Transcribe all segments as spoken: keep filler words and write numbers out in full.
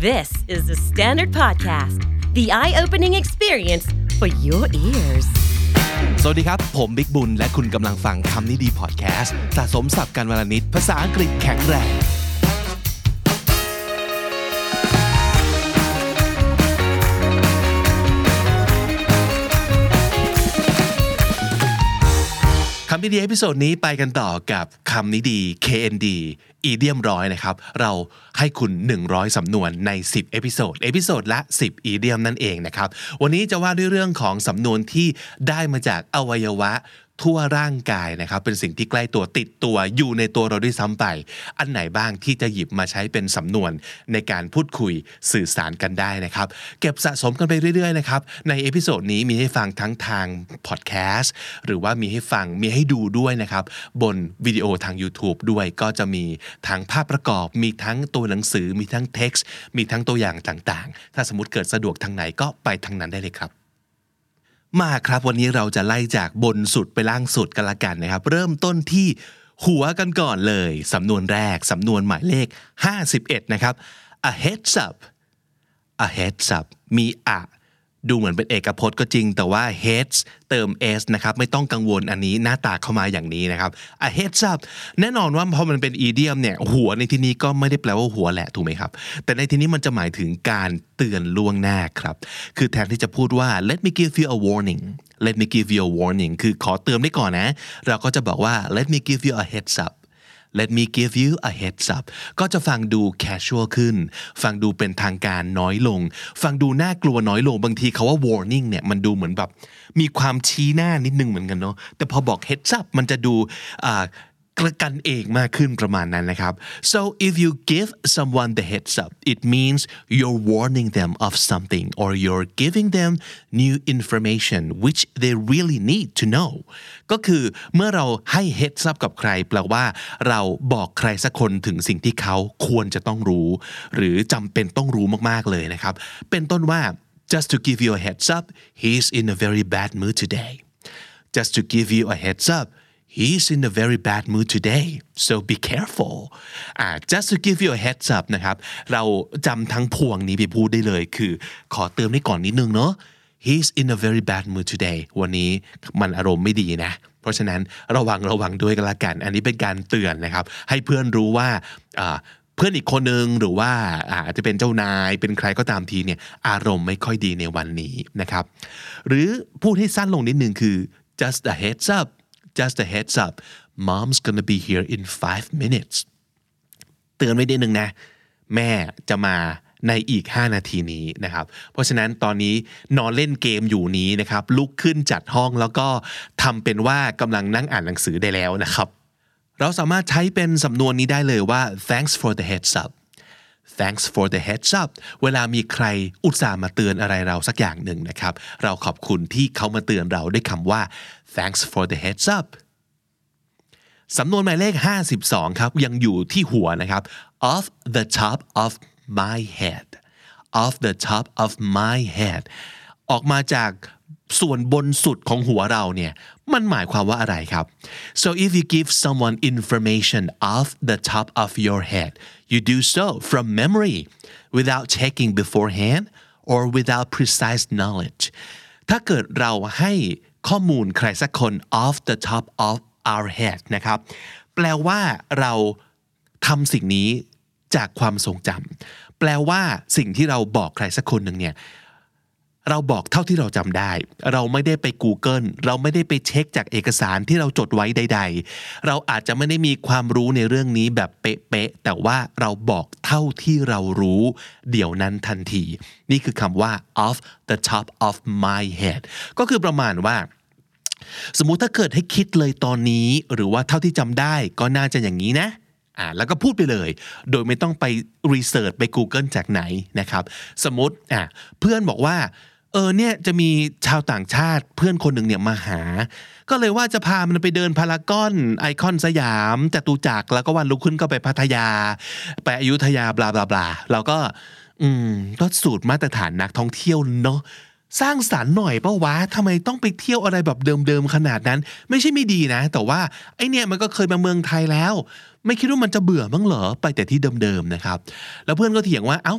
This is the Standard Podcast, the eye-opening experience for your ears. สวัสดีครับผมบิ๊กบุญและคุณกำลังฟังคำนี้ดีพอดแคสต์สะสมศัพท์กันวลนิดภาษาอังกฤษแข็งแรงคำนี้ดีเอพิโซดนี้ไปกันต่อกับคำนี้ดี เค เอ็น ดี อีเดียมร้อยนะครับเราให้คุณหนึ่งร้อยสำนวนในสิบเอพิโซดเอพิโซดละสิบอีเดียมนั่นเองนะครับวันนี้จะว่าด้วยเรื่องของสำนวนที่ได้มาจากอวัยวะทั่วร่างกายนะครับเป็นสิ่งที่ใกล้ตัวติดตัวอยู่ในตัวเราด้วยซ้ำไปอันไหนบ้างที่จะหยิบมาใช้เป็นสำนวนในการพูดคุยสื่อสารกันได้นะครับเก็บสะสมกันไปเรื่อยๆนะครับในเอพิโซดนี้มีให้ฟังทั้งทางพอดแคสต์หรือว่ามีให้ฟังมีให้ดูด้วยนะครับบนวิดีโอทาง YouTube ด้วยก็จะมีทั้งภาพประกอบมีทั้งตัวหนังสือมีทั้งเท็กซ์มีทั้งตัวอย่างต่างๆถ้าสมมุติเกิดสะดวกทางไหนก็ไปทางนั้นได้เลยครับมาครับวันนี้เราจะไล่จากบนสุดไปล่างสุดกันละกันนะครับเริ่มต้นที่หัวกันก่อนเลยสำนวนแรกสำนวนหมายเลขห้าสิบเอ็ดนะครับ a heads up a heads up มีอะดูเหมือนเป็นเอกพจน์ก็จริงแต่ว่า heads เติม s นะครับไม่ต้องกังวลอันนี้หน้าตาเข้ามาอย่างนี้นะครับ a heads up แน่นอนว่าพอมันเป็น idiom เนี่ยหัวในที่นี้ก็ไม่ได้แปลว่าหัวแหละถูกไหมครับแต่ในที่นี้มันจะหมายถึงการเตือนล่วงหน้าครับคือแทนที่จะพูดว่า let me give you a warning let me give you a warning คือขอเตือนไว้ก่อนนะเราก็จะบอกว่า let me give you a heads up Let me give you a heads up ก็จะฟังดู casual ขึ้นฟังดูเป็นทางการน้อยลงฟังดูน่ากลัวน้อยลงบางทีคาว่า warning เนี่ยมันดูเหมือนแบบมีความชี้หน้านิดนึงเหมือนกันเนาะแต่พอบอก heads up มันจะดูอ่ากันเองมากขึ้นประมาณนั้นนะครับ so if you give someone the heads up it means you're warning them of something or you're giving them new information which they really need to know ก็คือเมื่อเราให้ heads up กับใครแปลว่าเราบอกใครสักคนถึงสิ่งที่เขาควรจะต้องรู้หรือจำเป็นต้องรู้มากๆเลยนะครับเป็นต้นว่า just to give you a heads up he's in a very bad mood today just to give you a heads up He's in a very bad mood today, so be careful. อ่า just to give you a heads up นะครับเราจำทั้งพวงนี้ไปพูดได้เลยคือขอเติมให้ก่อนนิดนึงเนาะ He's in a very bad mood today วันนี้มันอารมณ์ไม่ดีนะเพราะฉะนั้นระวังระวังด้วยกันละกันอันนี้เป็นการเตือนนะครับให้เพื่อนรู้ว่าอ่าเพื่อนอีกคนนึงหรือว่าอาจจะเป็นเจ้านายเป็นใครก็ตามทีเนี่ยอารมณ์ไม่ค่อยดีในวันนี้นะครับหรือพูดให้สั้นลงนิดนึงคือ just a heads up Just a heads up mom's gonna be here in five minutes เตือนไว้นิดนึงนะแม่จะมาในอีกห้านาทีนี้นะครับเพราะฉะนั้นตอนนี้นอนเล่นเกมอยู่นี้นะครับลุกขึ้นจัดห้องแล้วก็ทำเป็นว่ากำลังนั่งอ่านหนังสือได้แล้วนะครับเราสามารถใช้เป็นสำนวนนี้ได้เลยว่า thanks for the heads up Thanks for the heads up เวลามีใครอุตส่าห์มาเตือนอะไรเราสักอย่างหนึ่งนะครับเราขอบคุณที่เขามาเตือนเราด้วยคำว่า Thanks for the heads up สำนวนหมายเลขห้าสิบสองครับยังอยู่ที่หัวนะครับ off the top of my head off the top of my head ออกมาจากส่วนบนสุดของหัวเราเนี่ยมันหมายความว่าอะไรครับ so if you give someone information off the top of your head you do so from memory without checking beforehand or without precise knowledge ถ้าเกิดเราให้ข้อมูลใครสักคน off the top of our head นะครับแปลว่าเราทำสิ่งนี้จากความทรงจำแปลว่าสิ่งที่เราบอกใครสักคนหนึ่งเนี่ยเราบอกเท่าที่เราจำได้เราไม่ได้ไป Google เราไม่ได้ไปเช็คจากเอกสารที่เราจดไว้ใดๆเราอาจจะไม่ได้มีความรู้ในเรื่องนี้แบบเป๊ะๆแต่ว่าเราบอกเท่าที่เรารู้เดี๋ยวนั้นทันทีนี่คือคำว่า off the top of my head ก็คือประมาณว่าสมมุติถ้าเกิดให้คิดเลยตอนนี้หรือว่าเท่าที่จำได้ก็น่าจะอย่างนี้นะอ่าแล้วก็พูดไปเลยโดยไม่ต้องไปรีเสิร์ชไป Google จากไหนนะครับสมมุติอ่ะเพื่อนบอกว่าเออเนี่ยจะมีชาวต่างชาติเพื่อนคนหนึ่งเนี่ยมาหาก็เลยว่าจะพามันไปเดินพารากอนไอคอนสยามจตุจักรแล้วก็วันรุ่งขึ้นก็ไปพัทยาไปอยุธยาบลาบลาบลาแล้วก็อืมก็สูตรมาตรฐานนักท่องเที่ยวเนาะสร้างสรรค์หน่อยเปล่าวะทำไมต้องไปเที่ยวอะไรแบบเดิมๆขนาดนั้นไม่ใช่ไม่ดีนะแต่ว่าไอเนี่ยมันก็เคยมาเมืองไทยแล้วไม่คิดว่ามันจะเบื่อมั้งเหรอไปแต่ที่เดิมๆนะครับแล้วเพื่อนก็เถียงว่าเอ้า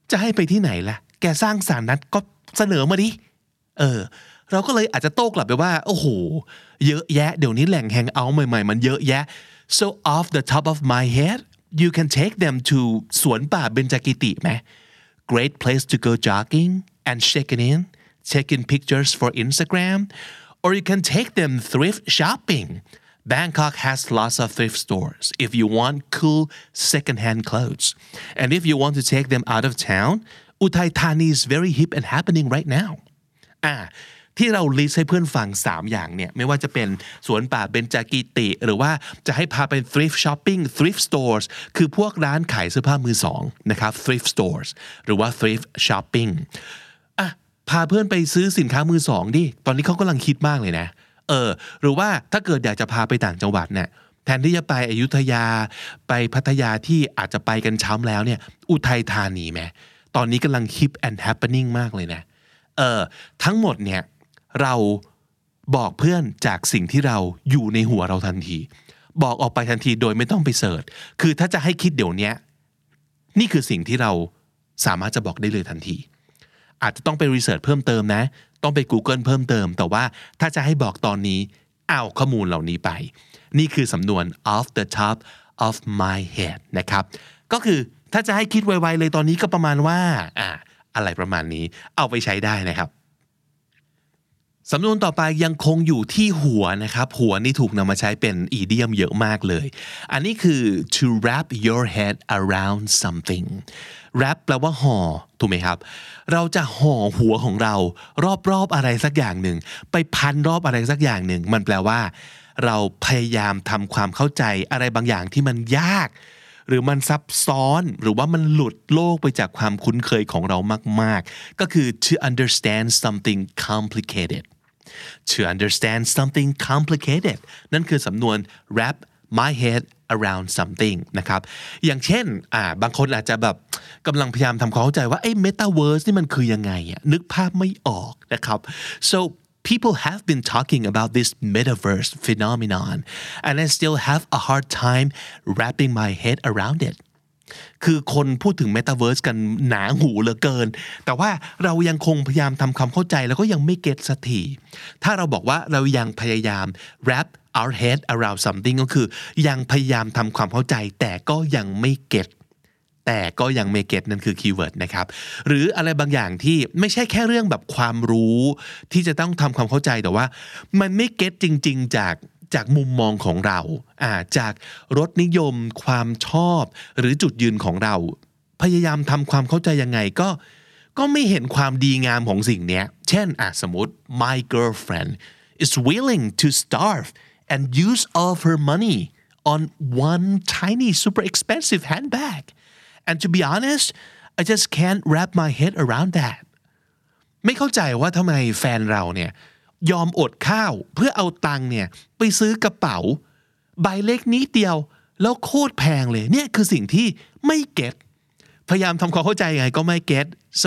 จะให้ไปที่ไหนล่ะแกสร้างสรรค์นั้นก็เสนอมาดิเออเราก็เลยอาจจะโต้กลับไปว่าโอ้โหเยอะแยะเดี๋ยวนี้แหล่งแฮงเอาท์ใหม่ๆมันเยอะแยะ so off the top of my head you can take them to สวนป่าเบญจกิติไหม great place to go jogging and checking in taking pictures for Instagram or you can take them thrift shopping Bangkok has lots of thrift stores if you want cool second-hand clothes and if you want to take them out of town Uthai Thani is very hip and happening right now อ่าที่เราลิสต์ให้เพื่อนฟังสามอย่างเนี่ยไม่ว่าจะเป็นสวนป่าเบญจกิติหรือว่าจะให้พาไป thrift shopping thrift stores คือพวกร้านขายเสื้อผ้ามือสองนะครับ thrift stores หรือว่า thrift shopping อ่ะพาเพื่อนไปซื้อสินค้ามือสองดิตอนนี้เขากำลังคิดมากเลยนะเออหรือว่าถ้าเกิดอยากจะพาไปต่างจังหวัดเนี่ยแทนที่จะไปอยุธยาไปพัทยาที่อาจจะไปกันช้ำแล้วเนี่ยอุทัยธานีไหมตอนนี้กำลัง hip and happening มากเลยนะเออทั้งหมดเนี่ยเราบอกเพื่อนจากสิ่งที่เราอยู่ในหัวเราทันทีบอกออกไปทันทีโดยไม่ต้องไปเสิร์ชคือถ้าจะให้คิดเดี๋ยวนี้นี่คือสิ่งที่เราสามารถจะบอกได้เลยทันทีอาจจะต้องไปรีเสิร์ชเพิ่มเติมนะต้องไป Google เพิ่มเติมแต่ว่าถ้าจะให้บอกตอนนี้เอาข้อมูลเหล่านี้ไปนี่คือสำนวน off the top of my head นะครับก็คือถ้าจะให้คิดไวๆเลยตอนนี้ก็ประมาณว่าอ่าอะไรประมาณนี้เอาไปใช้ได้นะครับสำนวนต่อไปยังคงอยู่ที่หัวนะครับหัวนี่ถูกนำมาใช้เป็นอีเดียมเยอะมากเลยอันนี้คือ to wrap your head around something wrap แปลว่าห่อถูกไหมครับเราจะห่อหัวของเรารอบๆอะไรสักอย่างหนึ่งไปพันรอบอะไรสักอย่างหนึ่งมันแปลว่าเราพยายามทำความเข้าใจอะไรบางอย่างที่มันยากหรือมันซับซ้อนหรือว่ามันหลุดโลกไปจากความคุ้นเคยของเรามากๆก็คือ to understand something complicated to understand something complicated นั่นคือสำนวน wrap my head around something นะครับอย่างเช่นอ่าบางคนอาจจะแบบกำลังพยายามทำความเข้าใจว่าไอ้ metaverse นี่มันคือยังไงอ่ะนึกภาพไม่ออกนะครับ so people have been talking about this metaverse phenomenon and I still have a hard time wrapping my head around it คือคนพูดถึง Metaverse กันหนาหูเหลือเกินแต่ว่าเรายังคงพยายามทำความเข้าใจแล้วก็ยังไม่เก็ตสักทีถ้าเราบอกว่าเรายังพยายาม wrap our head around something ก็คือยังพยายามทำความเข้าใจแต่ก็ยังไม่เก็ตแต่ก็ยังไม่เก็ตนั่นคือคีย์เวิร์ดนะครับหรืออะไรบางอย่างที่ไม่ใช่แค่เรื่องแบบความรู้ที่จะต้องทำความเข้าใจแต่ว่ามันไม่เก็ตจริงๆจากจากมุมมองของเราอ่าจากรสนิยมความชอบหรือจุดยืนของเราพยายามทำความเข้าใจยังไงก็ก็ไม่เห็นความดีงามของสิ่งนี้เช่นอ่ะสมมติ my girlfriend is willing to starve and use all of her money on one tiny super expensive handbag and to be honest I just can't wrap my head around that ไม่เข้าใจว่าทำไมแฟนเราเนี่ยยอมอดข้าวเพื่อเอาตังค์เนี่ยไปซื้อกระเป๋าใบเล็กนิดเดียวแล้วโคตรแพงเลยเนี่ยคือสิ่งที่ไม่เก็ตพยายามทำความเข้าใจยังไงก็ไม่เก็ต so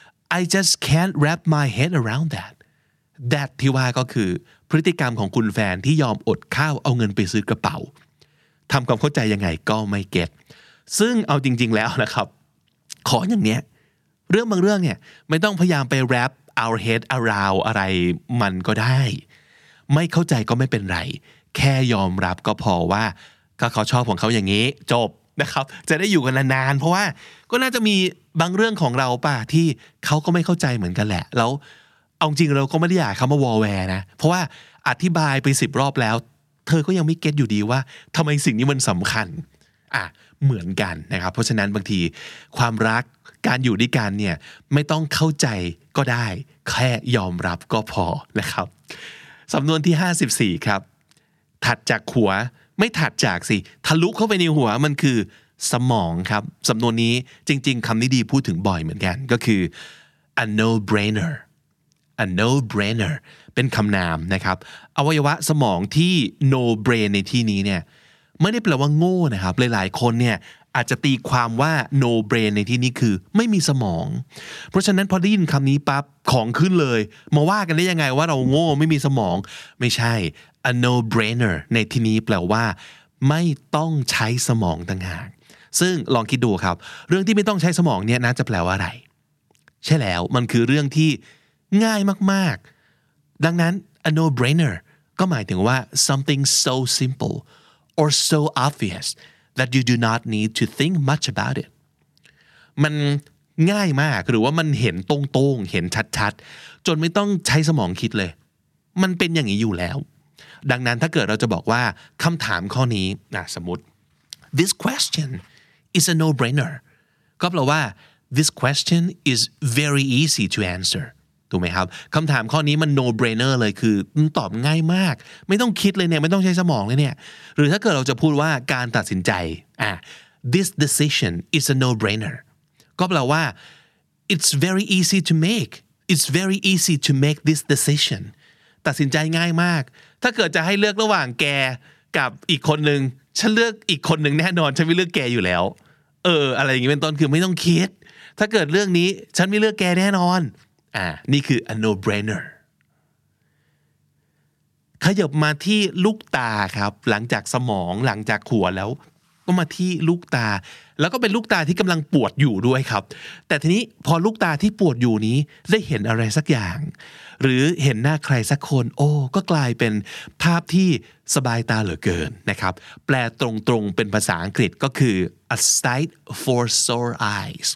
I just can't wrap my head around that that ที่ว่าก็คือพฤติกรรมของคุณแฟนที่ยอมอดข้าวเอาเงินไปซื้อกระเป๋าทำความเข้าใจยังไงก็ไม่เก็ตซึ่งเอาจริงๆแล้วนะครับขออย่างเนี้ยเรื่องบางเรื่องเนี่ยไม่ต้องพยายามไป wrap our head around อะไรมันก็ได้ไม่เข้าใจก็ไม่เป็นไรแค่ยอมรับก็พอว่าก็เขาชอบของเขาอย่างนี้จบนะครับจะได้อยู่กันนานๆเพราะว่าก็น่าจะมีบางเรื่องของเราป่ะที่เขาก็ไม่เข้าใจเหมือนกันแหละแล้วเอาจริงเราก็ไม่ได้อยากเขามาวอลแวร์นะเพราะว่าอธิบายไปสิบรอบแล้วเธอก็ยังไม่เก็ตอยู่ดีว่าทำไมสิ่งนี้มันสำคัญอ่ะเหมือนกันนะครับเพราะฉะนั้นบางทีความรักการอยู่ด้วยกันเนี่ยไม่ต้องเข้าใจก็ได้แค่ยอมรับก็พอนะครับสำนวนที่ห้าสิบสี่ครับถัดจากหัวไม่ถัดจากสิทะลุเข้าไปในหัวมันคือสมองครับสำนวนนี้จริงๆคำนี้ดีพูดถึงบ่อยเหมือนกันก็คือ a no brainer a no brainer เป็นคำนามนะครับอวัยวะสมองที่ no brain ในที่นี้เนี่ยไม่ได้แปลว่าโง่นะครับหลายๆคนเนี่ยอาจจะตีความว่า no brain ในที่นี้คือไม่มีสมองเพราะฉะนั้นพอได้ยินคำนี้ปั๊บของขึ้นเลยมาว่ากันได้ยังไงว่าเราโง่ไม่มีสมองไม่ใช่ a no brainer ในที่นี้แปลว่าไม่ต้องใช้สมองต่างหากซึ่งลองคิดดูครับเรื่องที่ไม่ต้องใช้สมองเนี่ยน่าจะแปลว่าอะไรใช่แล้วมันคือเรื่องที่ง่ายมากๆดังนั้น a no-brainer ก็หมายถึงว่า something so simple or so obvious that you do not need to think much about it มันง่ายมากหรือว่ามันเห็นตรงๆเห็นชัดๆจนไม่ต้องใช้สมองคิดเลยมันเป็นอย่างนี้อยู่แล้วดังนั้นถ้าเกิดเราจะบอกว่าคำถามข้อนี้นะสมมติ this question is a no-brainer ก็แปลว่า this question is very easy to answer ถูกไหมครับคำถามข้อนี้มัน no-brainer เลยคือตอบง่ายมากไม่ต้องคิดเลยเนี่ยไม่ต้องใช้สมองเลยเนี่ยหรือถ้าเกิดเราจะพูดว่าการตัดสินใจอ่ะ this decision is a no-brainer ก็แปลว่า it's very easy to make it's very easy to make this decision ตัดสินใจง่ายมากถ้าเกิดจะให้เลือกระหว่างแกกับอีกคนนึงฉันเลือกอีกคนนึงแน่นอนฉันไม่เลือกแกอยู่แล้วเอออะไรอย่างงี้เป็นต้นคือไม่ต้องคิดถ้าเกิดเรื่องนี้ฉันไม่เลือกแกแน่นอนอ่านี่คือ a no-brainer ขยับมาที่ลูกตาครับหลังจากสมองหลังจากหัวแล้วก็มาที่ลูกตาแล้วก็เป็นลูกตาที่กำลังปวดอยู่ด้วยครับแต่ทีนี้พอลูกตาที่ปวดอยู่นี้ได้เห็นอะไรสักอย่างหรือเห็นหน้าใครสักคนโอ้ก็กลายเป็นภาพที่สบายตาเหลือเกินนะครับแปลตรงๆเป็นภาษาอังกฤษก็คือ a sight for sore eyes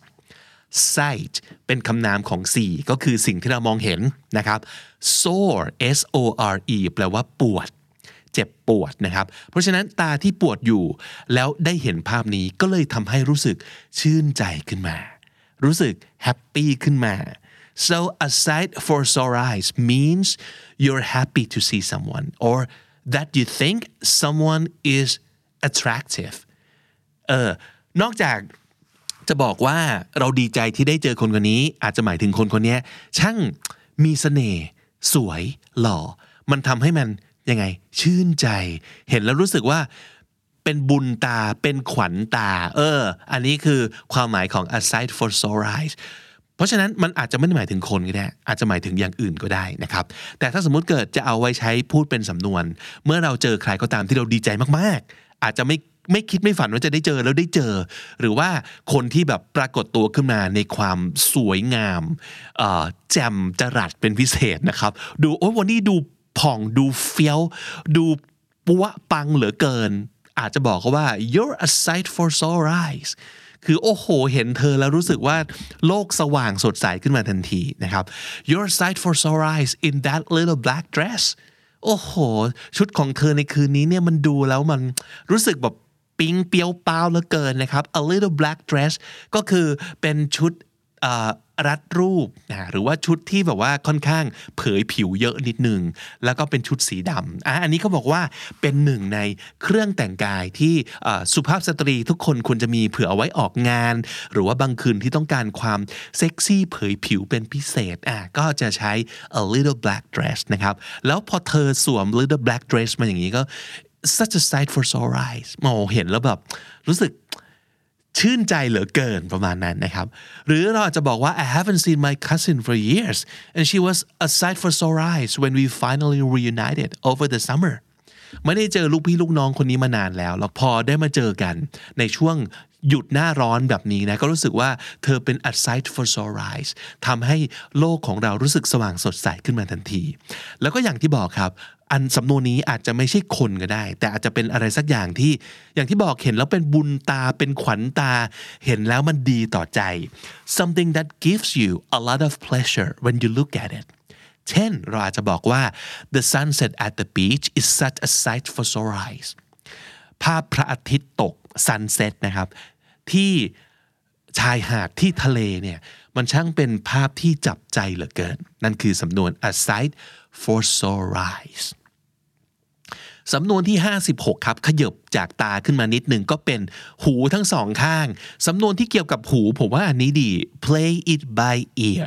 sight เป็นคำนามของ see ก็คือสิ่งที่เรามองเห็นนะครับ sore s o r e แปลว่าปวดเจ็บปวดนะครับเพราะฉะนั้นตาที่ปวดอยู่แล้วได้เห็นภาพนี้ก็เลยทำให้รู้สึกชื่นใจขึ้นมารู้สึกแฮปปี้ขึ้นมา so a sight for sore eyes means you're happy to see someone or that you think someone is attractive เออนอกจากจะบอกว่าเราดีใจที่ได้เจอคนคนนี้อาจจะหมายถึงคนคนนี้ช่างมีเสน่ห์สวยหล่อมันทำให้มันยังไงชื่นใจเห็นแล้วรู้สึกว่าเป็นบุญตาเป็นขวัญตาเอออันนี้คือความหมายของ a sight for sore eyes เพราะฉะนั้นมันอาจจะไม่ได้หมายถึงคนก็ได้อาจจะหมายถึงอย่างอื่นก็ได้นะครับแต่ถ้าสมมุติเกิดจะเอาไว้ใช้พูดเป็นสำนวนเมื่อเราเจอใครก็ตามที่เราดีใจมากๆอาจจะไม่ไม่คิดไม่ฝันว่าจะได้เจอแล้วได้เจอหรือว่าคนที่แบบปรากฏตัวขึ้นมาในความสวยงามแจ่มจรัสเป็นพิเศษนะครับดูโอ้วันนี้ดูผ่องดูเฟี้ยวดูปัวปังเหลือเกินอาจจะบอกเขาว่า you're a sight for sore eyes คือโอ้โหเห็นเธอแล้วรู้สึกว่าโลกสว่างสดใสขึ้นมาทันทีนะครับ you're a sight for sore eyes in that little black dress โอ้โหชุดของเธอในคืนนี้เนี่ยมันดูแล้วมันรู้สึกแบบปิ๊งเปียวเปล่าเหลือเกินนะครับ a little black dress ก็คือเป็นชุดรัดรูปนะหรือว่าชุดที่แบบว่าค่อนข้างเผยผิวเยอะนิดนึงแล้วก็เป็นชุดสีดำอ่ะอันนี้เขาบอกว่าเป็นหนึ่งในเครื่องแต่งกายที่สุภาพสตรีทุกคนควรจะมีเผื่อเอาไว้ออกงานหรือว่าบางคืนที่ต้องการความเซ็กซี่เผยผิวเป็นพิเศษอ่ะก็จะใช้ a little black dress นะครับแล้วพอเธอสวม little black dress มาอย่างนี้ก็ such a sight for sore eyes มองเห็นแล้วแบบรู้สึกชื่นใจเหลือเกินประมาณนั้นนะครับหรือเราอาจจะบอกว่า I haven't seen my cousin for years and she was a sight for sore eyes when we finally reunited over the summer ไม่ได้เจอลูกพี่ลูกน้องคนนี้มานานแล้วแล้วพอได้มาเจอกันในช่วงหยุดหน้าร้อนแบบนี้นะก็รู้สึกว่าเธอเป็น a sight for sore eyes ทำให้โลกของเรารู้สึกสว่างสดใสขึ้นมาทันทีแล้วก็อย่างที่บอกครับอันสำนวนนี้อาจจะไม่ใช่คนก็ได้แต่อาจจะเป็นอะไรสักอย่างที่อย่างที่บอกเห็นแล้วเป็นบุญตาเป็นขวัญตาเห็นแล้วมันดีต่อใจ something that gives you a lot of pleasure when you look at it เช่นเราอาจจะบอกว่า the sunset at the beach is such a sight for sore eyes ภาพพระอาทิตย์ตก sunset นะครับที่ชายหาดที่ทะเลเนี่ยมันช่างเป็นภาพที่จับใจเหลือเกินนั่นคือสำนวน a sight for sore eyesสำนวนที่ห้าสิบหกครับขยับจากตาขึ้นมานิดนึงก็เป็นหูทั้งสองข้างสำนวนที่เกี่ยวกับหูผมว่าอันนี้ดี play it by ear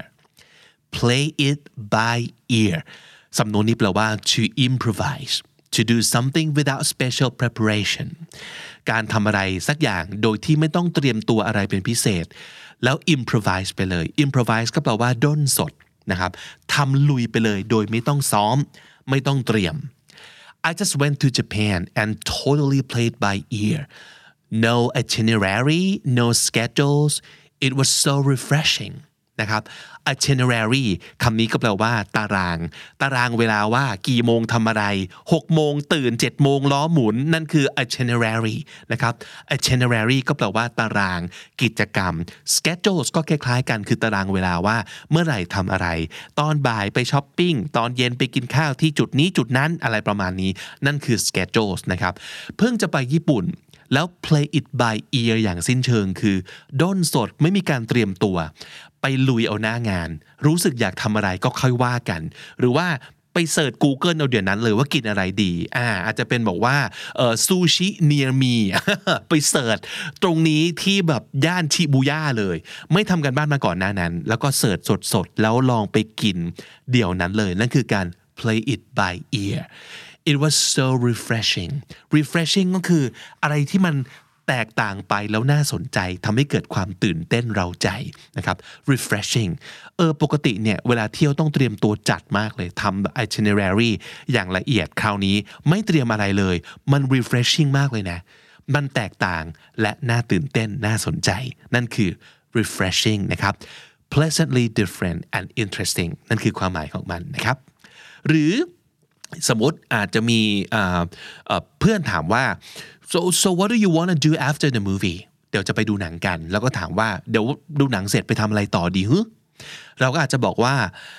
play it by ear สำนวนนี้แปลว่า to improvise to do something without special preparation การทำอะไรสักอย่างโดยที่ไม่ต้องเตรียมตัวอะไรเป็นพิเศษแล้ว improvise ไปเลย improvise ก็แปลว่าด้นสดนะครับทำลุยไปเลยโดยไม่ต้องซ้อมไม่ต้องเตรียมI just went to Japan and totally played by ear no itinerary no schedules it was so refreshing นะครับ itinerary คำนี้ก็แปลว่าตารางตารางเวลาว่ากี่โมงทำอะไรหกโมงตื่นเจ็ดโมงล้อหมุนนั่นคือ itinerary นะครับ itinerary ก็แปลว่าตารางกิจกรรม schedules ก็คล้ายๆกันคือตารางเวลาว่าเมื่อไหร่ทำอะไรตอนบ่ายไปช้อปปิ้งตอนเย็นไปกินข้าวที่จุดนี้จุดนั้นอะไรประมาณนี้นั่นคือ schedules นะครับเพิ่งจะไปญี่ปุ่นแล้ว play it by ear อย่างสิ้นเชิงคือด้นสดไม่มีการเตรียมตัวไปลุยเอาหน้างานรู้สึกอยากทำอะไรก็ค่อยว่ากันหรือว่าไปเสิร์ช Google เอาเดี๋ยวนั้นเลยว่ากินอะไรดีอ่าอาจจะเป็นบอกว่าเอ่อซูชิ near me ไปเสิร์ชตรงนี้ที่แบบย่านชิบูย่าเลยไม่ทำกันบ้านมาก่อนหน้านั้นแล้วก็เสิร์ชสดๆแล้วลองไปกินเดี๋ยวนั้นเลยนั่นคือการ play it by ear It was so refreshing refreshing ก็คืออะไรที่มันแตกต่างไปแล้วน่าสนใจทำให้เกิดความตื่นเต้นเร้าใจนะครับ refreshing เออปกติเนี่ยเวลาเที่ยวต้องเตรียมตัวจัดมากเลยทำ itinerary อย่างละเอียดคราวนี้ไม่เตรียมอะไรเลยมัน refreshing มากเลยนะมันแตกต่างและน่าตื่นเต้นน่าสนใจนั่นคือ refreshing นะครับ pleasantly different and interesting นั่นคือความหมายของมันนะครับหรือสมมติอาจจะมีเพื่อนถามว่า so so what do you want to do after the movie เดี๋ยวจะไปดูหนังกันแล้วก็ถามว่าเดี๋ยวดูหนังเสร็จไปทำอะไรต่อดีฮึเราก็อาจจะบอกว่า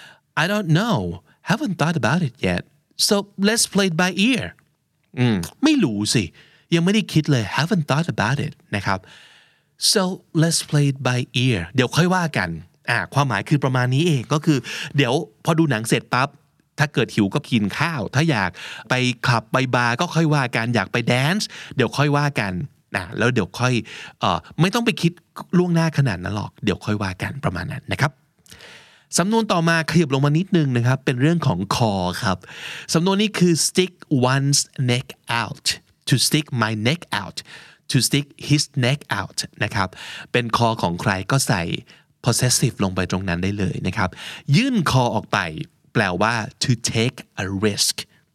I don't know haven't thought about it yet so let's play it by ear อืมไม่รู้สิยังไม่ได้คิดเลย haven't thought about it นะครับ so let's play it by ear เดี๋ยวค่อยว่ากันอ่าความหมายคือประมาณนี้เองก็คือเดี๋ยวพอดูหนังเสร็จปั๊บถ้าเกิดหิวก็กินข้าวถ้าอยากไปคลับไปบาร์ก็ค่อยว่ากันอยากไปแดนซ์เดี๋ยวค่อยว่ากันนะแล้วเดี๋ยวค่อยเอ่อไม่ต้องไปคิดล่วงหน้าขนาดนั้นหรอกเดี๋ยวค่อยว่ากันประมาณนั้นนะครับสำนวนต่อมาขยับลงมานิดนึงนะครับเป็นเรื่องของคอครับสำนวนนี้คือ stick one's neck out to stick my neck out to stick his neck out นะครับเป็นคอของใครก็ใส่ possessive ลงไปตรงนั้นได้เลยนะครับยื่นคอออกไปแปลว่า to take a risk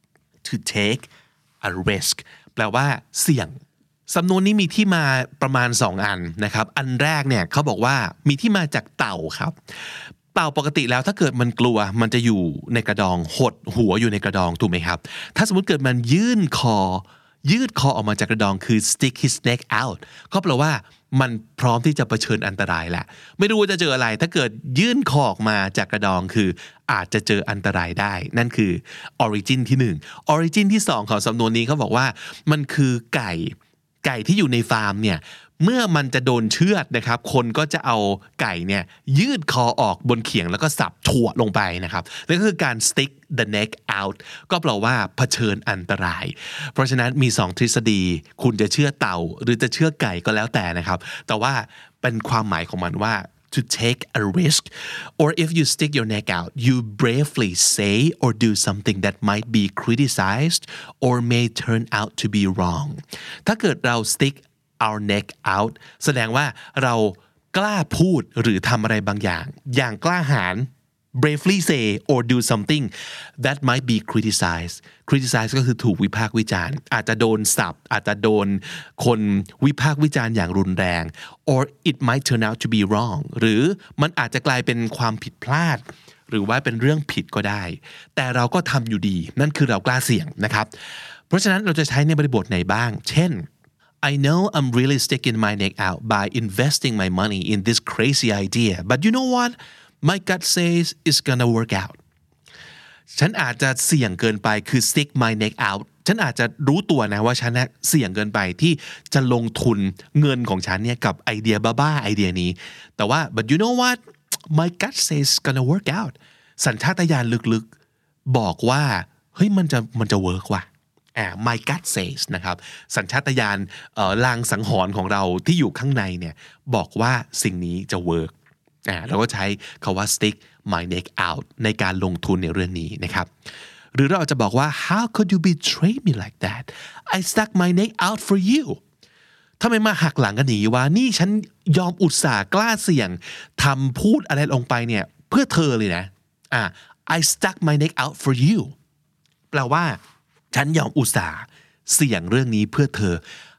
to take a risk แปลว่าเสี่ยงสำนวนนี้มีที่มาประมาณสองอันนะครับอันแรกเนี่ยเขาบอกว่ามีที่มาจากเต่าครับเต่าปกติแล้วถ้าเกิดมันกลัวมันจะอยู่ในกระดองหดหัวอยู่ในกระดองถูกไหมครับถ้าสมมติเกิดมันยื่นคอยืดคอออกมาจากกระดองคือ stick his neck out ก็แปลว่ามันพร้อมที่จะเผชิญอันตรายแหละไม่รู้ว่าจะเจออะไรถ้าเกิดยื่นคอออกมาจากกระดองคืออาจจะเจออันตรายได้นั่นคือ origin ที่หนึ่ง origin ที่สองของสำนวนนี้เขาบอกว่ามันคือไก่ไก่ที่อยู่ในฟาร์มเนี่ยเมื่อมันจะโดนเชือดนะครับคนก็จะเอาไก่เนี่ยยืดคอออกบนเขียงแล้วก็สับถั่วลงไปนะครับนั่นก็คือการ stick the neck out ก็แปลว่าเผชิญอันตรายเพราะฉะนั้นมีสองทฤษฎีคุณจะเชื่อเต่าหรือจะเชื่อไก่ก็แล้วแต่นะครับแต่ว่าเป็นความหมายของมันว่า to take a risk or if you stick your neck out you bravely say or do something that might be criticized or may turn out to be wrong ถ้าเกิดเรา stick our neck out แสดงว่าเรากล้าพูดหรือทำอะไรบางอย่างอย่างกล้าหาญ bravely say or do something that might be criticized criticize ก็คือถูกวิพากษ์วิจารณ์อาจจะโดนสับอาจจะโดนคนวิพากษ์วิจารณ์อย่างรุนแรง or it might turn out to be wrong หรือมันอาจจะกลายเป็นความผิดพลาดหรือว่าเป็นเรื่องผิดก็ได้แต่เราก็ทำอยู่ดีนั่นคือเรากล้าเสี่ยงนะครับเพราะฉะนั้นเราจะใช้ในบริบทไหนบ้างเช่นI know I'm really sticking my neck out by investing my money in this crazy idea but you know what my gut says it's gonna work out ฉันอาจจะเสี่ยงเกินไปคือ stick my neck out ฉันอาจจะรู้ตัวนะว่าฉันเสี่ยงเกินไปที่จะลงทุนเงินของฉันเนี่ยกับไอเดียบ้าๆไอเดียนี้แต่ว่า but you know what my gut says it's gonna work out สัญชาตญาณลึกๆบอกว่าเฮ้ยมันจะมันจะเวิร์กว่ะอ่า my gut says นะครับสัญชาตญาณเอ่อลางสังหรณ์ของเราที่อยู่ข้างในเนี่ยบอกว่าสิ่งนี้จะเวิร์กอ่าเราก็ใช้คำว่า stick my neck out ในการลงทุนในเรื่องนี้นะครับหรือเราอาจจะบอกว่า how could you betray me like that I stuck my neck out for you ทำไมมาหักหลังกันหนีวะนี่ฉันยอมอุตส่าห์กล้าเสี่ยงทำพูดอะไรลงไปเนี่ยเพื่อเธอเลยนะอ่า I stuck my neck out for you แปลว่าฉันยอมอุตส่าห์เสี่ยงเรื่องนี้เพื่อเธอ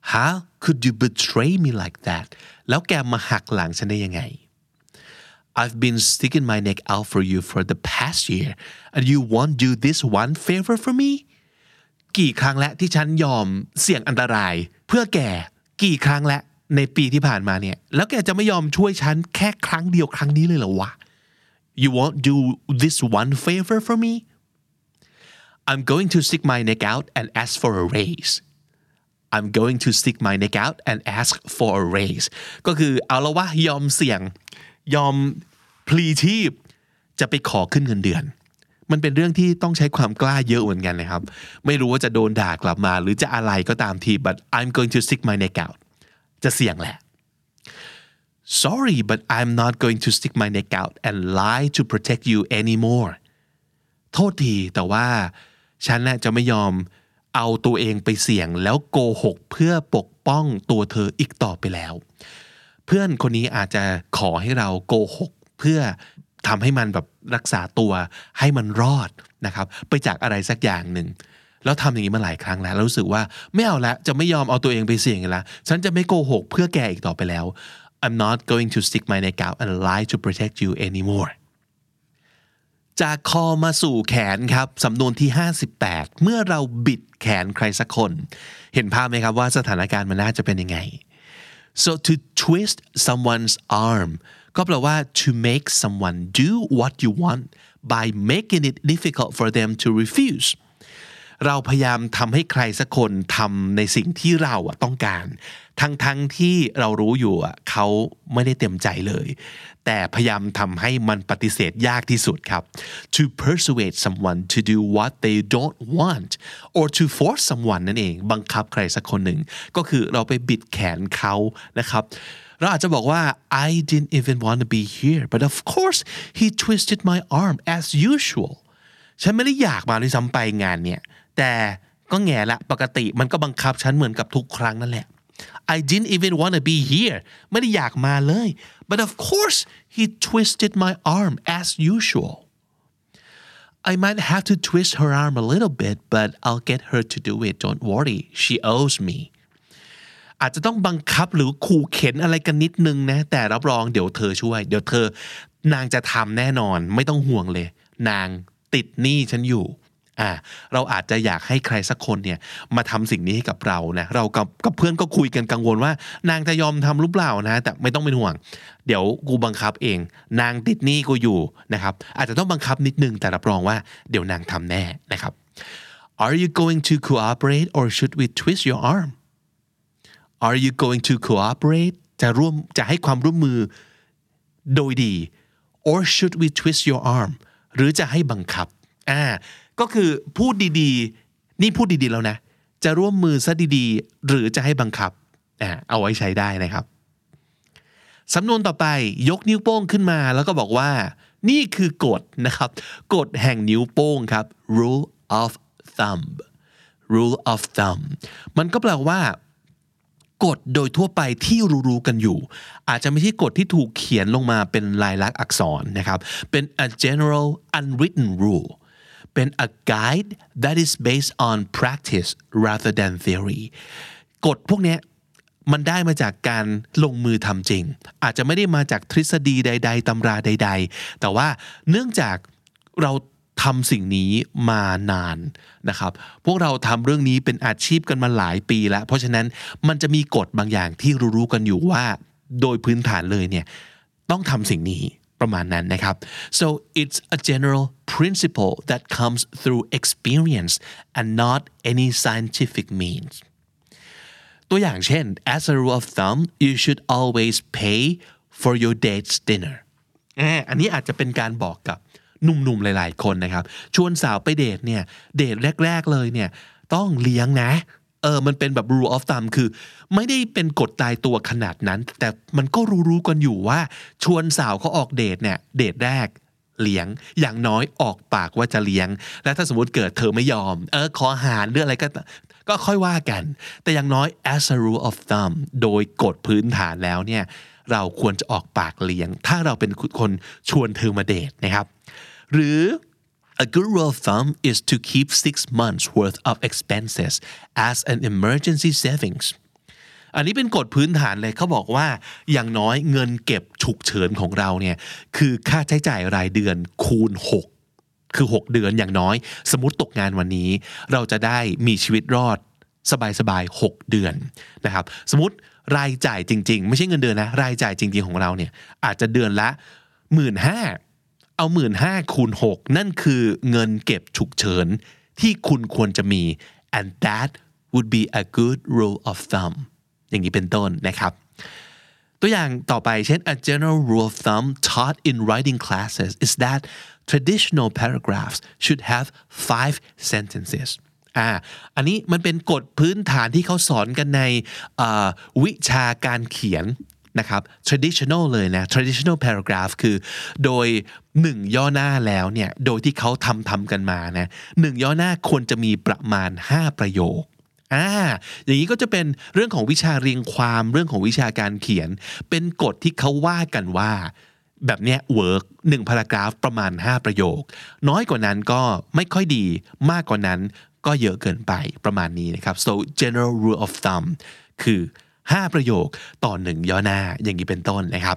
how could you betray me like that แล้วแกมาหักหลังฉันได้ยังไง I've been sticking my neck out for you for the past year and you won't do this one favor for me กี่ครั้งแล้วที่ฉันยอมเสี่ยงอันตรายเพื่อแกกี่ครั้งแล้วในปีที่ผ่านมาเนี่ยแล้วแกจะไม่ยอมช่วยฉันแค่ครั้งเดียวครั้งนี้เลยเหรอวะ You won't do this one favor for me I'm going to stick my neck out and ask for a raise I'm going to stick my neck out and ask for a raise ก็คือเอาละวะยอมเสี่ยงยอมพลีชีพจะไปขอขึ้นเงินเดือนมันเป็นเรื่องที่ต้องใช้ความกล้าเยอะเหมือนกันนะครับไม่รู้ว่าจะโดนด่ากลับมาหรือจะอะไรก็ตามที but I'm going to stick my neck out จะเสี่ยงแหละ Sorry but I'm not going to stick my neck out and lie to protect you anymore โทษทีแต่ว่าฉันน่ะจะไม่ยอมเอาตัวเองไปเสี่ยงแล้วโกหกเพื่อปกป้องตัวเธออีกต่อไปแล้วเพื่อนคนนี้อาจจะขอให้เราโกหกเพื่อทำให้มันแบบรักษาตัวให้มันรอดนะครับไปจากอะไรสักอย่างหนึ่งแล้วทำอย่างนี้มาหลายครั้งแล้วแล้วรู้สึกว่าไม่เอาละจะไม่ยอมเอาตัวเองไปเสี่ยงแล้วฉันจะไม่โกหกเพื่อแกอีกต่อไปแล้ว I'm not going to stick my neck out and lie to protect you anymore จากคอมาสู่แขนครับสำนวนที่ห้าสิบแปดเมื่อเราบิดแขนใครสักคนเห็นภาพไหมครับว่าสถานการณ์มันน่าจะเป็นยังไง so to twist someone's arm ก็แปลว่า to make someone do what you want by making it difficult for them to refuse เราพยายามทำให้ใครสักคนทำในสิ่งที่เราต้องการทั้งๆที่เรารู้อยู่เขาไม่ได้เต็มใจเลยแต่พยายามทำให้มันปฏิเสธยากที่สุดครับ to persuade someone to do what they don't want or to force someone นั่นเองบังคับใครสักคนหนึ่งก็คือเราไปบิดแขนเขานะครับเราอาจจะบอกว่า I didn't even want to be here but of course he twisted my arm as usual ฉันไม่ได้อยากมาด้วยซ้ำไปงานเนี่ยแต่ก็แง่ละปกติมันก็บังคับฉันเหมือนกับทุกครั้งนั่นแหละ I didn't even want to be here ไม่ได้อยากมาเลย but of course he twisted my arm as usual I might have to twist her arm a little bit but I'll get her to do it don't worry she owes me อาจจะต้องบังคับหรือขู่เข็นอะไรกันนิดนึงนะแต่รับรองเดี๋ยวเธอช่วยเดี๋ยวเธอนางจะทำแน่นอนไม่ต้องห่วงเลยนางติดหนี้ฉันอยู่อ่าเราอาจจะอยากให้ใครสักคนเนี่ยมาทำสิ่งนี้ให้กับเรานะเรากับกับเพื่อนก็คุยกันกังวลว่านางจะยอมทำหรือเปล่านะแต่ไม่ต้องเป็นห่วงเดี๋ยวกูบังคับเองนางติดหนี้กูอยู่นะครับอาจจะต้องบังคับนิดนึงแต่รับรองว่าเดี๋ยวนางทำแน่นะครับ Are you going to cooperate or should we twist your arm Are you going to cooperate จะร่วมจะให้ความร่วมมือโดยดี or should we twist your arm หรือจะให้บังคับอ่าก็คือพูดดีๆนี่พูดดีๆแล้วนะจะร่วมมือซะดีๆหรือจะให้บังคับอ่าเอาไว้ใช้ได้นะครับสำนวนต่อไปยกนิ้วโป้งขึ้นมาแล้วก็บอกว่านี่คือกฎนะครับกฎแห่งนิ้วโป้งครับ rule of thumb rule of thumb มันก็แปลว่ากฎโดยทั่วไปที่รู้ๆกันอยู่อาจจะไม่ใช่กฎที่ถูกเขียนลงมาเป็นลายลักษณ์อักษรนะครับเป็น a general unwritten rule เป็น a guide that is based on practice rather than theory กฎพวกนี้มันได้มาจากการลงมือทำจริงอาจจะไม่ได้มาจากทฤษฎีใดๆตำราใดๆแต่ว่าเนื่องจากเราทำสิ่งนี้มานานนะครับพวกเราทำเรื่องนี้เป็นอาชีพกันมาหลายปีแล้วเพราะฉะนั้นมันจะมีกฎบางอย่างที่รู้ๆกันอยู่ว่าโดยพื้นฐานเลยเนี่ยต้องทำสิ่งนี้ประมาณนั้นนะครับ so it's a general principle that comes through experience and not any scientific means ตัวอย่างเช่น as a rule of thumb you should always pay for your date's dinner อันนี้อาจจะเป็นการบอกกับหนุ่มๆหลายๆคนนะครับชวนสาวไปเดทเนี่ยเดทแรกๆเลยเนี่ยต้องเลี้ยงนะเออมันเป็นแบบ rule of thumb คือไม่ได้เป็นกฎตายตัวขนาดนั้นแต่มันก็รู้ๆกันอยู่ว่าชวนสาวเขาออกเดทเนี่ยเดทแรกเลี้ยงอย่างน้อยออกปากว่าจะเลี้ยงและถ้าสมมติเกิดเธอไม่ยอมเออขอหารหรืออะไรก็ก็ค่อยว่ากันแต่อย่างน้อย as a rule of thumb โดยกฎพื้นฐานแล้วเนี่ยเราควรจะออกปากเลี้ยงถ้าเราเป็นคนชวนเธอมาเดทนะครับหรือ a good rule of thumb is to keep six months worth of expenses as an emergency savings อันนี้เป็นกฎพื้นฐานเลยเขาบอกว่าอย่างน้อยเงินเก็บฉุกเฉินของเราเนี่ยคือค่าใช้จ่ายรายเดือนคูณหกคือหกเดือนอย่างน้อยสมมุติตกงานวันนี้เราจะได้มีชีวิตรอดสบายๆหกเดือนนะครับสมมุติรายจ่ายจริงๆไม่ใช่เงินเดือนนะรายจ่ายจริงๆของเราเนี่ยอาจจะเดือนละ หนึ่งหมื่นห้าพัน เอา หนึ่งหมื่นห้าพัน คูณหกนั่นคือเงินเก็บฉุกเฉินที่คุณควรจะมี and that would be a good rule of thumb อย่างนี้เป็นต้นนะครับตัวอย่างต่อไปเช่น a general rule of thumb taught in writing classes is that traditional paragraphs should have five sentences อ่าอันนี้มันเป็นกฎพื้นฐานที่เขาสอนกันในวิชาการเขียนนะครับ traditional เลยนะ traditional paragraph คือโดยหนึ่งย่อหน้าแล้วเนี่ยโดยที่เขาทำทำกันมานะหนึ่งย่อหน้าควรจะมีประมาณห้าประโยคอ่าอย่างนี้ก็จะเป็นเรื่องของวิชาเรียงความเรื่องของวิชาการเขียนเป็นกฎที่เขาว่ากันว่าแบบเนี้ย work หนึ่ง paragraph ประมาณห้าประโยคน้อยกว่านั้นก็ไม่ค่อยดีมากกว่านั้นก็เยอะเกินไปประมาณนี้นะครับ so general rule of thumb คือห้าประโยคต่อหนึ่งย่อหน้าอย่างนี้เป็นต้นนะครับ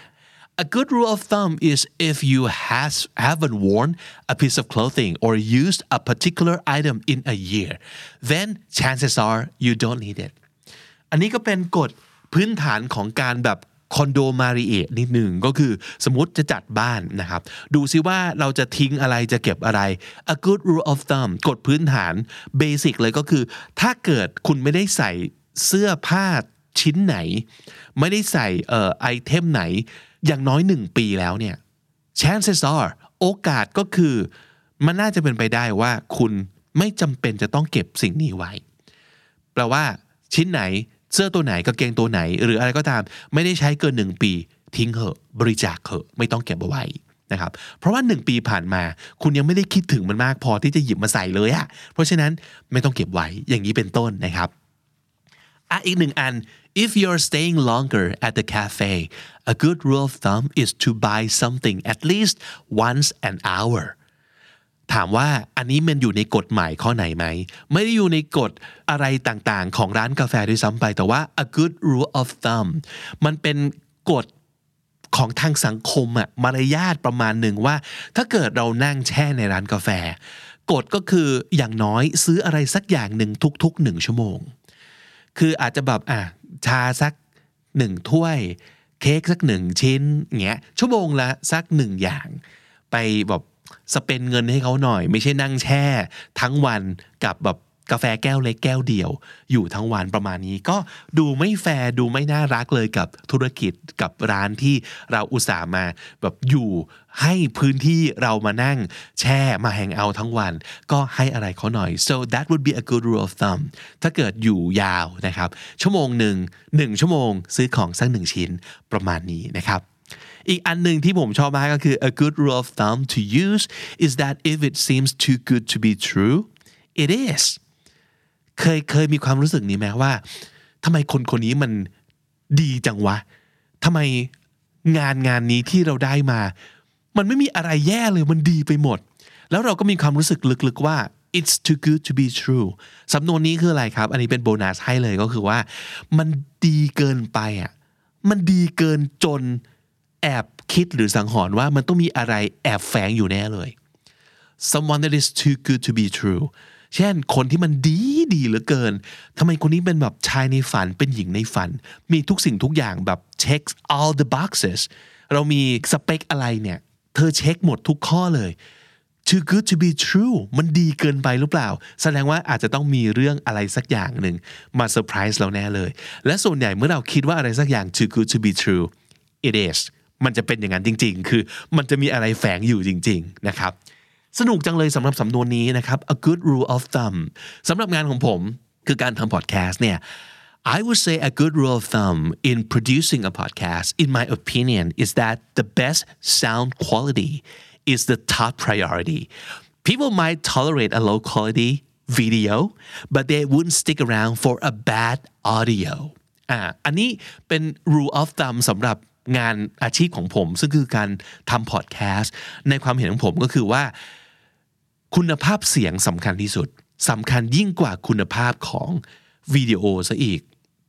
A good rule of thumb is if you has, haven't worn a piece of clothing or used a particular item in a year then chances are you don't need it อันนี้ก็เป็นกฎพื้นฐานของการแบบคอนโดมาริเอนิดหนึ่งก็คือสมมุติจะจัดบ้านนะครับดูซิว่าเราจะทิ้งอะไรจะเก็บอะไร A good rule of thumb กฎพื้นฐานเบสิกเลยก็คือถ้าเกิดคุณไม่ได้ใส่เสื้อผ้าชิ้นไหนไม่ได้ใส่เอ่อไอเทมไหนอย่างน้อยหนึ่งปีแล้วเนี่ย chances are โอกาสก็คือมันน่าจะเป็นไปได้ว่าคุณไม่จำเป็นจะต้องเก็บสิ่งนี้ไว้แปลว่าชิ้นไหนเสื้อตัวไหนกางเกงตัวไหนหรืออะไรก็ตามไม่ได้ใช้เกินหนึ่งปีทิ้งเหอะบริจาคเหอะไม่ต้องเก็บเอาไว้นะครับเพราะว่าหนึ่งปีผ่านมาคุณยังไม่ได้คิดถึงมันมากพอที่จะหยิบมาใส่เลยอะเพราะฉะนั้นไม่ต้องเก็บไว้อย่างนี้เป็นต้นนะครับอ่ะอีกหนึ่งอัน if you're staying longer at the cafe a good rule of thumb is to buy something at least once an hour ถามว่าอันนี้มันอยู่ในกฎหมายข้อไหนไหมไม่ได้อยู่ในกฎอะไรต่างๆของร้านกาแฟด้วยซ้ำไปแต่ว่า a good rule of thumb มันเป็นกฎของทางสังคมอะมารยาทประมาณหนึ่งว่าถ้าเกิดเรานั่งแช่ในร้านกาแฟกฎก็คืออย่างน้อยซื้ออะไรสักอย่างหนึ่งทุกๆหนึ่งชั่วโมงคืออาจจะแบบอ่ะชาสักหนึ่งถ้วยเค้กสักหนึ่งชิ้นเงี้ยชั่วโมงละสักหนึ่งอย่างไปแบบสเปนเงินให้เขาหน่อยไม่ใช่นั่งแช่ทั้งวันกับแบบกาแฟแก้วเล็กแก้วเดียวอยู่ทั้งวันประมาณนี้ก็ดูไม่แฟร์ดูไม่น่ารักเลยกับธุรกิจกับร้านที่เราอุตส่าห์มาแบบอยู่ให้พื้นที่เรามานั่งแช่มาแฮงเอาท์ทั้งวันก็ให้อะไรเขาหน่อย so that would be a good rule of thumb ถ้าเกิดอยู่ยาวนะครับชั่วโมงหนึ่งหนึ่งชั่วโมงซื้อของสักหนึ่งชิ้นประมาณนี้นะครับอีกอันหนึ่งที่ผมชอบมากก็คือ a good rule of thumb to use is that if it seems too good to be true it is เคยเคยมีความรู้สึกนี้ไหมว่าทำไมคนคนนี้มันดีจังวะทำไมงานงานนี้ที่เราได้มามันไม่มีอะไรแย่เลยมันดีไปหมดแล้วเราก็มีความรู้สึกลึกๆว่า it's too good to be true สำนวนนี้คืออะไรครับอันนี้เป็นโบนัสให้เลยก็คือว่ามันดีเกินไปอ่ะมันดีเกินจนแอบคิดหรือสังหรณ์ว่ามันต้องมีอะไรแอบแฝงอยู่แน่เลย someone that is too good to be true เช่นคนที่มันดีดีเหลือเกินทำไมคนนี้เป็นแบบชายในฝันเป็นหญิงในฝันมีทุกสิ่งทุกอย่างแบบ checks all the boxes เรามีสเปคอะไรเนี่ยเธอเช็คหมดทุกข้อเลย too good to be true มันดีเกินไปหรือเปล่าแสดงว่าอาจจะต้องมีเรื่องอะไรสักอย่างหนึ่งมาเซอร์ไพรส์เราแน่เลยและส่วนใหญ่เมื่อเราคิดว่าอะไรสักอย่าง too good to be true it is มันจะเป็นอย่างนั้นจริงๆคือมันจะมีอะไรแฝงอยู่จริงๆนะครับสนุกจังเลยสำหรับสำนวนนี้นะครับ a good rule of thumb สำหรับงานของผมคือการทำพอดแคสต์เนี่ย I would say a good rule of thumb in producing a podcast in my opinion is that the best sound quality is the top priority people might tolerate a low quality video but they wouldn't stick around for a bad audio อ่าอันนี้เป็น rule of thumb สำหรับงานอาชีพของผมซึ่งคือการทำพอดแคสต์ในความเห็นของผมก็คือว่าคุณภาพเสียงสำคัญที่สุดสำคัญยิ่งกว่าคุณภาพของวิดีโอซะอีก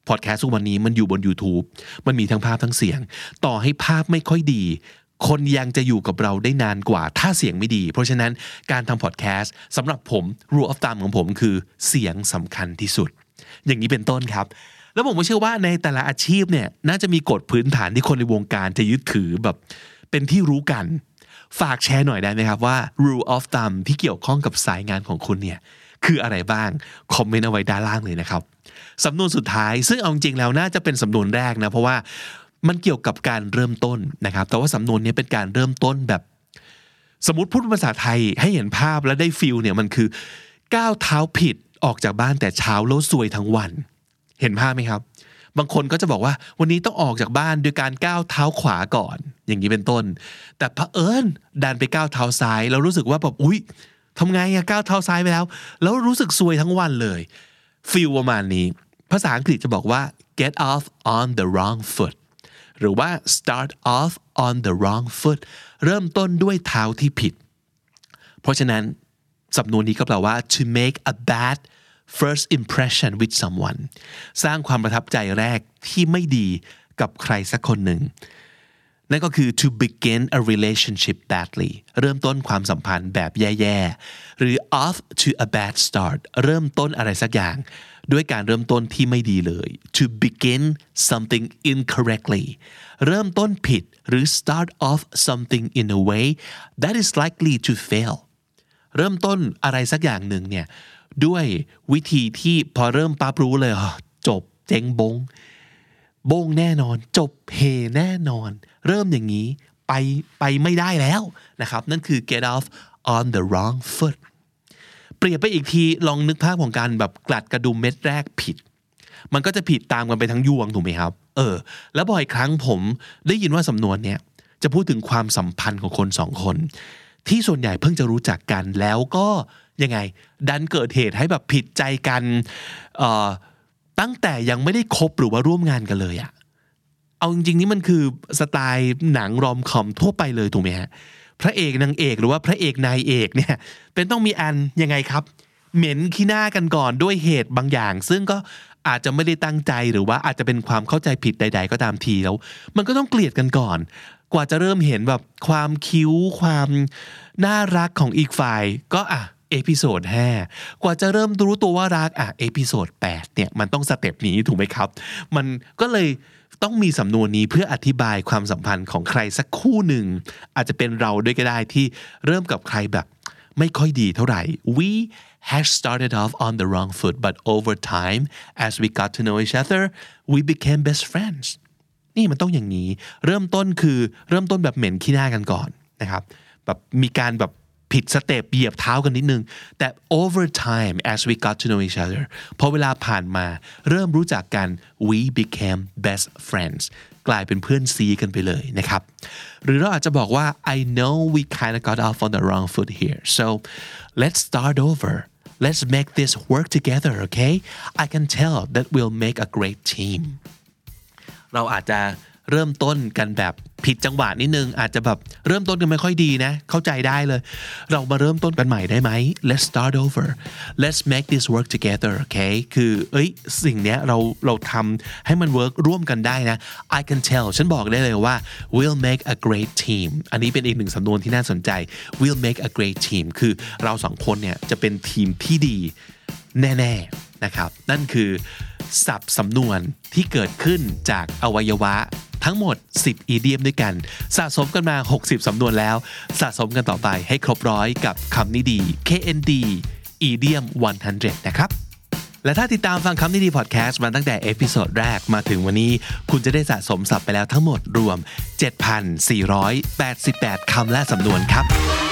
พอดแคสต์ทุกวันนี้มันอยู่บน YouTube มันมีทั้งภาพทั้งเสียงต่อให้ภาพไม่ค่อยดีคนยังจะอยู่กับเราได้นานกว่าถ้าเสียงไม่ดีเพราะฉะนั้นการทำพอดแคสต์สำหรับผม rule of thumb ของผมคือเสียงสำคัญที่สุดอย่างนี้เป็นต้นครับแล้วผมก็เชื่อว่าในแต่ละอาชีพเนี่ยน่าจะมีกฎพื้นฐานที่คนในวงการจะยึดถือแบบเป็นที่รู้กันฝากแชร์หน่อยได้ไหมครับว่า rule of thumb ที่เกี่ยวข้องกับสายงานของคุณเนี่ยคืออะไรบ้างคอมเมนต์เอาไว้ด้านล่างเลยนะครับสำนวนสุดท้ายซึ่งเอาจริงแล้วน่าจะเป็นสำนวนแรกนะเพราะว่ามันเกี่ยวกับการเริ่มต้นนะครับแต่ว่าสำนวนนี้เป็นการเริ่มต้นแบบสมมุติพูดภาษาไทยให้เห็นภาพและได้ฟีลเนี่ยมันคือก้าวเท้าผิดออกจากบ้านแต่เช้าแล้วซวยทั้งวันเห็นภาพไหมครับบางคนก็จะบอกว่าวันนี้ต้องออกจากบ้านโดยการก้าวเท้าขวาก่อนอย่างนี้เป็นต้นแต่เผอิญดันไปก้าวเท้าซ้ายแล้วรู้สึกว่าแบบอุ๊ยทำไงอะก้าวเท้าซ้ายไปแล้วแล้วรู้สึกซวยทั้งวันเลยฟีลประมาณนี้ภาษาอังกฤษจะบอกว่า get off on the wrong foot หรือว่า start off on the wrong foot เริ่มต้นด้วยเท้าที่ผิดเพราะฉะนั้นสำนวนนี้ก็แปลว่า to make a bad first impression with someone สร้างความประทับใจแรกที่ไม่ดีกับใครสักคนหนึ่งนั่นก็คือ to begin a relationship badly เริ่มต้นความสัมพันธ์แบบแย่ๆหรือ off to a bad start เริ่มต้นอะไรสักอย่างด้วยการเริ่มต้นที่ไม่ดีเลย to begin something incorrectly เริ่มต้นผิดหรือ start off something in a way that is likely to fail เริ่มต้นอะไรสักอย่างหนึ่งเนี่ยด้วยวิธีที่พอเริ่มปั๊บรู้เลยจบเจ๊งบงบงแน่นอนจบเฮแน่นอนเริ่มอย่างนี้ไปไปไม่ได้แล้วนะครับนั่นคือ get off on the wrong foot เปรียบไปอีกทีลองนึกภาพของการแบบกลัดกระดุมเม็ดแรกผิดมันก็จะผิดตามกันไปทั้งยวงถูกไหมครับเออแล้วบ่อยครั้งผมได้ยินว่าสำนวนเนี้ยจะพูดถึงความสัมพันธ์ของคนสองคนที่ส่วนใหญ่เพิ่งจะรู้จักกันแล้วก็ยังไงดันเกิดเหตุให้แบบผิดใจกันเอ่อตั้งแต่ยังไม่ได้คบหรือว่าร่วมงานกันเลยอะเอาจริงๆนี่มันคือสไตล์หนังรอมคอมทั่วไปเลยถูกไหมฮะพระเอกนางเอกหรือว่าพระเอกนายเอกเนี่ยเป็นต้องมีอันยังไงครับเหม็นขี้หน้ากันก่อนด้วยเหตุบางอย่างซึ่งก็อาจจะไม่ได้ตั้งใจหรือว่าอาจจะเป็นความเข้าใจผิดใดๆก็ตามทีแล้วมันก็ต้องเกลียดกันก่อนกว่าจะเริ่มเห็นแบบความคิ้วความน่ารักของอีกฝ่ายก็อ่ะเอพิโซดห้ากว่าจะเริ่มรู้ตัวว่ารักอ่ะเอพิโซดแปดเนี่ยมันต้องสเต็ปนี้ถูกไหมครับมันก็เลยต้องมีสำนวนนี้เพื่ออธิบายความสัมพันธ์ของใครสักคู่หนึ่งอาจจะเป็นเราด้วยก็ได้ที่เริ่มกับใครแบบไม่ค่อยดีเท่าไหร่ we had started off on the wrong foot but over time as we got to know each other we became best friends นี่มันต้องอย่างนี้เริ่มต้นคือเริ่มต้นแบบเหม็นขี้หน้ากันก่อนนะครับแบบมีการแบบผิดสเต็ปเหยียบเท้ากันนิดนึงแต่ over time as we got to know each other พอเวลาผ่านมาเริ่มรู้จักกัน we became best friends กลายเป็นเพื่อนซีกันไปเลยนะครับหรือเราอาจจะบอกว่า I know we kind of got off on the wrong foot here so let's start over let's make this work together okay I can tell that we'll make a great team เราอาจจะเริ่มต้นกันแบบผิดจังหวะนิดนึงอาจจะแบบเริ่มต้นกันไม่ค่อยดีนะเข้าใจได้เลยเรามาเริ่มต้นกันใหม่ได้ไหม let's start over let's make this work together okay คือเอ้ยสิ่งเนี้ยเราเราทำให้มัน work ร่วมกันได้นะ I can tell ฉันบอกได้เลยว่า we'll make a great team อันนี้เป็นอีกหนึ่งสำนวนที่น่าสนใจ we'll make a great team คือเราสองคนเนี่ยจะเป็นทีมที่ดีแน่ๆนะครับนั่นคือศัพท์สำนวนที่เกิดขึ้นจากอวัยวะทั้งหมดสิบอีเดียมด้วยกันสะสมกันมาหกสิบสำนวนแล้วสะสมกันต่อไปให้ครบร้อยกับคำนี้ดี เค เอ็น ดี Idiomหนึ่งร้อยนะครับและถ้าติดตามฟังคำนี้ดีพอดแคสต์มาตั้งแต่เอพิโซดแรกมาถึงวันนี้คุณจะได้สะสมศัพท์ไปแล้วทั้งหมดรวม เจ็ดพันสี่ร้อยแปดสิบแปด คำและสำนวนครับ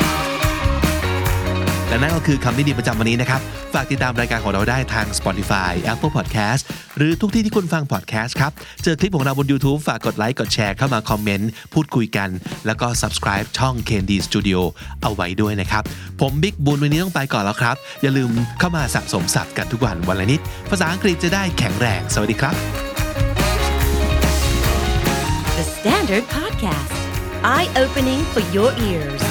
และนั่นก็คือคำนี้ดีประจำวันนี้นะครับฝากติดตามรายการของเราได้ทาง Spotify Apple Podcast หรือทุกที่ที่คุณฟัง podcast ครับเจอคลิปของเราบน YouTube ฝากกดไลค์กดแชร์เข้ามาคอมเมนต์พูดคุยกันแล้วก็ subscribe ช่อง เค เอ็น ดี Studio เอาไว้ด้วยนะครับผมบิ๊กบุญวันนี้ต้องไปก่อนแล้วครับอย่าลืมเข้ามาสะสมศัพท์กันทุกวันวันละนิดภาษาอังกฤษจะได้แข็งแรงสวัสดีครับ The Standard Podcast Eye Opening for Your Ears